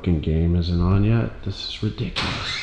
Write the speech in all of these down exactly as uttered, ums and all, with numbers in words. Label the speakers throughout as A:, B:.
A: fucking game isn't on yet. This is ridiculous.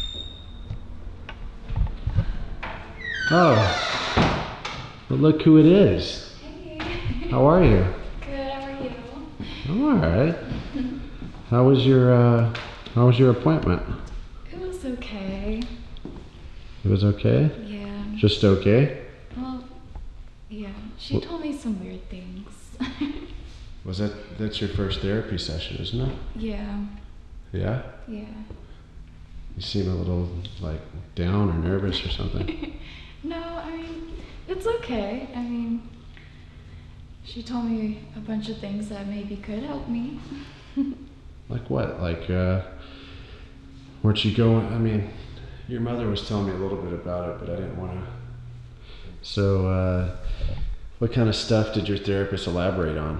A: Oh, but look who it is.
B: Hey.
A: How are you?
B: Good, how are you?
A: I'm alright. How was your, uh, how was your appointment?
B: It was okay.
A: It was okay?
B: Yeah.
A: Just okay?
B: Well, yeah. She
A: What?
B: told me some weird things.
A: Was that, that's your first therapy session, isn't it?
B: Yeah.
A: Yeah?
B: Yeah.
A: You seem a little, like, down or nervous or something.
B: No, I mean, it's okay. I mean, she told me a bunch of things that maybe could help me.
A: Like what? Like, uh, where'd she go? I mean, your mother was telling me a little bit about it, but I didn't want to. So, uh, what kind of stuff did your therapist elaborate on?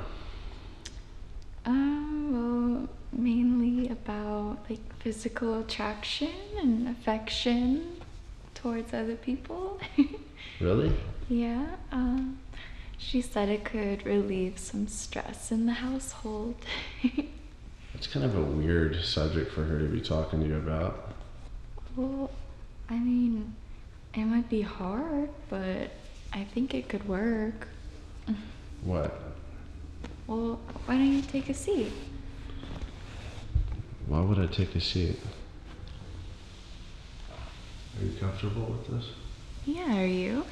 B: Um, well, mainly about like physical attraction and affection towards other people.
A: Really?
B: Yeah, um, she said it could relieve some stress in the household.
A: It's kind of a weird subject for her to be talking to you about.
B: Well, I mean, it might be hard, but I think it could work.
A: What?
B: Well, why don't you take a seat?
A: Why would I take a seat? Are you comfortable with this?
B: Yeah, are you?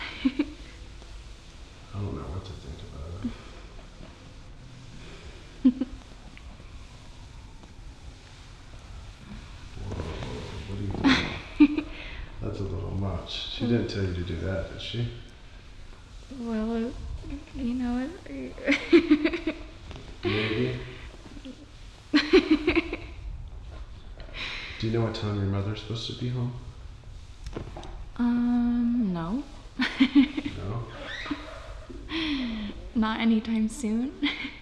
A: I don't know what to think about it. Whoa, what are you doing? That's a little much. She didn't tell you to do that, did she?
B: Well, you know it.
A: Maybe. Do you know what time your mother's supposed to be home?
B: Um, no.
A: No?
B: Not anytime soon.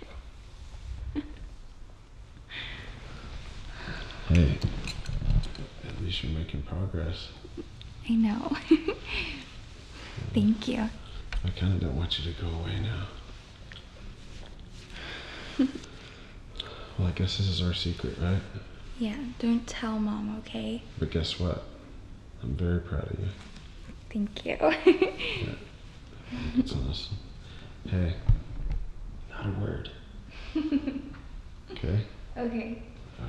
A: Hey, at least you're making progress.
B: I know. Thank you.
A: I kind of don't want you to go away now. Well, I guess this is our secret, right?
B: Yeah, don't tell Mom, okay?
A: But guess what? I'm very proud of you.
B: Thank you.
A: Yeah. It's honest. Hey, not a word. Okay?
B: Okay.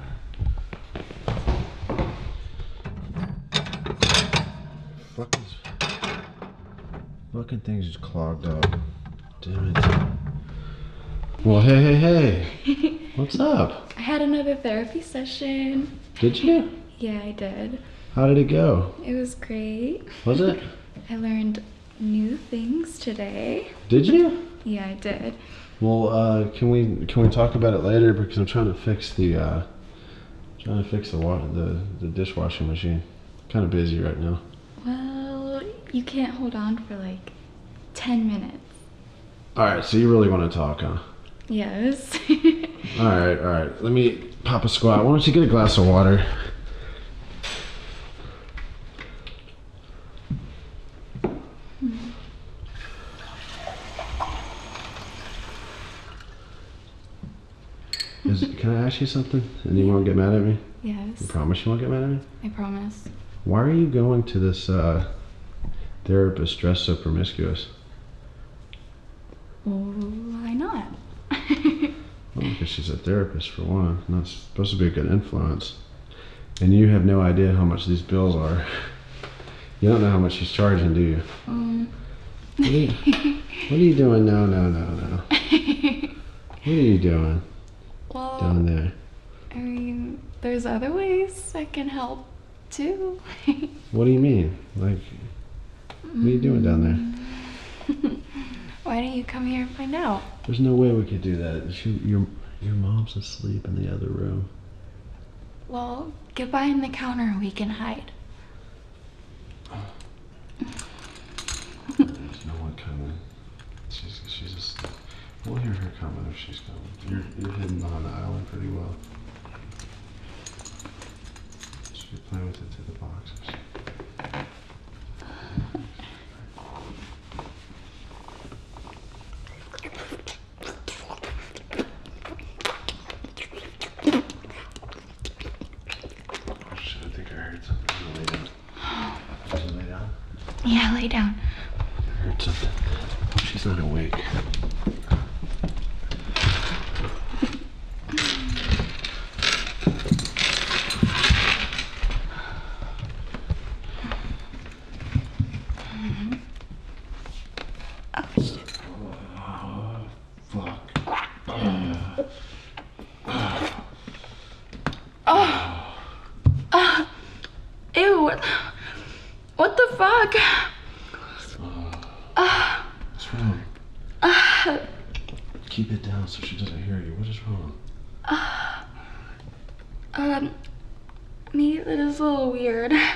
A: Fucking, fucking thing's just clogged up. Damn it. Well, hey, hey, hey. What's up?
B: I had another therapy session.
A: Did you?
B: Yeah, I did.
A: How did it go?
B: It was great.
A: Was it?
B: I learned new things today.
A: Did you?
B: Yeah, I did.
A: Well, uh, can we can we talk about it later because I'm trying to fix the uh, trying to fix the water the the dishwashing machine. Kind of busy right now.
B: Well, you can't hold on for like ten minutes.
A: All right, so you really want to talk, huh?
B: Yes.
A: All right, all right. Let me pop a squat. Why don't you get a glass of water? Is it, can I ask you something? And you won't get mad at me?
B: Yes.
A: You promise you won't get mad at me?
B: I promise.
A: Why are you going to this uh, therapist dressed so promiscuous?
B: Well, why not?
A: Well, because she's a therapist for one. Not supposed to be a good influence. And you have no idea how much these bills are. You don't know how much she's charging, do you?
B: Um.
A: What are you, what are you doing? No, no, no, no. What are you doing
B: Well,
A: down there?
B: I mean, there's other ways I can help too.
A: What do you mean? Like, what are you doing down there?
B: Why don't you come here and find out?
A: There's no way we could do that. She, your, your mom's asleep in the other room.
B: Well, get behind the counter and we can hide.
A: There's no one coming. She's, she's asleep. We'll hear her coming if she's coming. You're, you're hidden behind the island pretty well. Should we play with it to the boxes? lay down. Should I lay down?
B: Yeah, lay down.
A: I heard something. Oh, she's not awake.
B: Oh, shit.
A: Oh, fuck.
B: Oh. Uh, ew. What, what the fuck? Uh,
A: What's wrong?
B: uh,
A: Keep it down so she doesn't hear you. What is wrong?
B: uh, um, me, that is a little weird.
A: Yeah?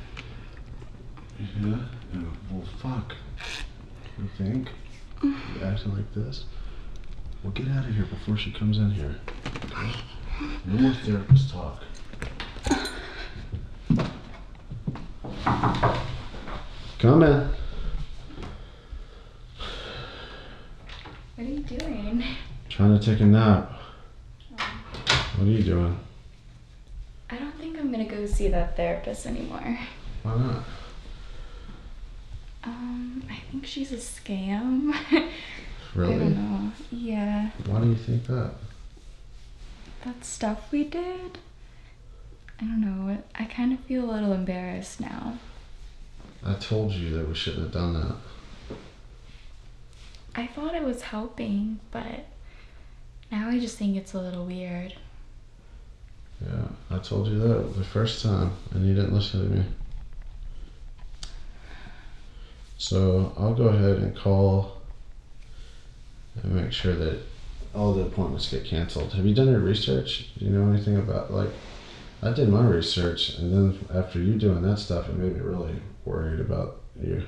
A: Oh, well, fuck. You think? You acting like this? Well, get out of here before she comes in here. Okay? No more therapist talk. Come in.
B: What are you doing?
A: Trying to take a nap. What are you doing?
B: I don't think I'm gonna go see that therapist anymore.
A: Why not?
B: Um, I think she's a scam.
A: Really?
B: I don't know. Yeah.
A: Why do you think that?
B: That stuff we did? I don't know. I kind of feel a little embarrassed now.
A: I told you that we shouldn't have done that.
B: I thought it was helping, but now I just think it's a little weird.
A: Yeah, I told you that the first time, and you didn't listen to me. So I'll go ahead and call and make sure that all the appointments get canceled. Have you done your research? Do you know anything about, like, I did my research, and then after you doing that stuff, it made me really worried about you.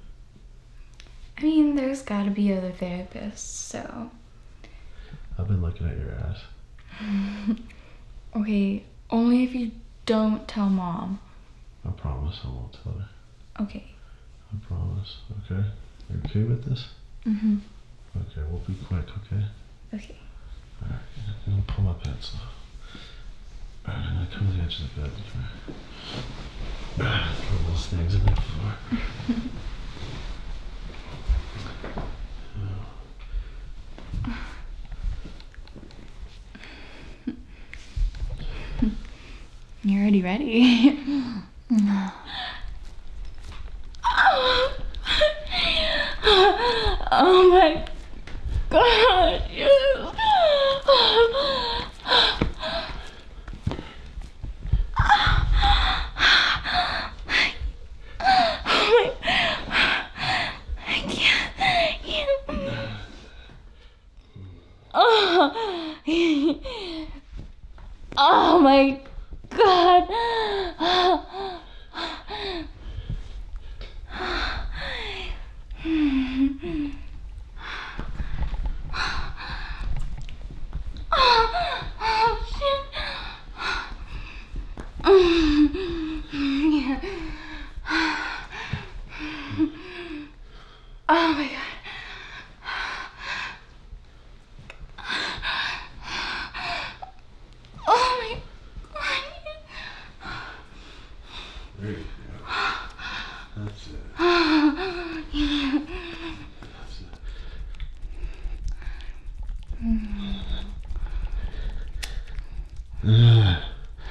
B: I mean, there's gotta be other therapists, so.
A: I've been looking at your ass.
B: Okay, only if you don't tell Mom.
A: I promise I won't tell her.
B: Okay.
A: I promise, okay? You okay with this?
B: Mm-hmm.
A: Okay, we'll be quick, okay?
B: Okay.
A: Alright, I'm gonna pull my pencil. Alright, I'm gonna come to the edge of the bed. Alright, throw those things in the floor.
B: You're already ready. Oh my god, yes. I can't. Oh, oh my god. Oh, shit. Yeah. Oh my god. Oh my god.
A: There you go. That's it.
B: Yeah.
A: That's it. Ah.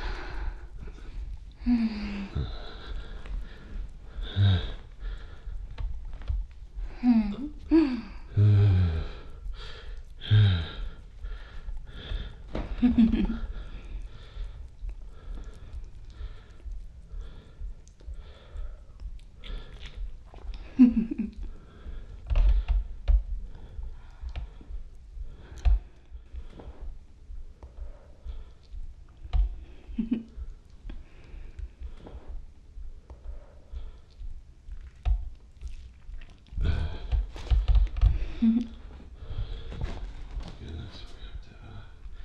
A: Goodness, we have to, uh,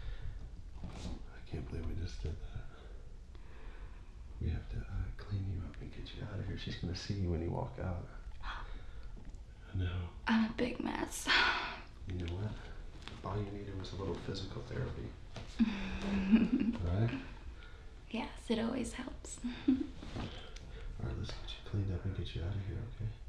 A: I can't believe we just did that. We have to uh, clean you up and get you out of here. She's gonna see you when you walk out. I know.
B: I'm a big mess.
A: You know what? All you needed was a little physical therapy. Right?
B: Yes, it always helps.
A: get you out of here, okay?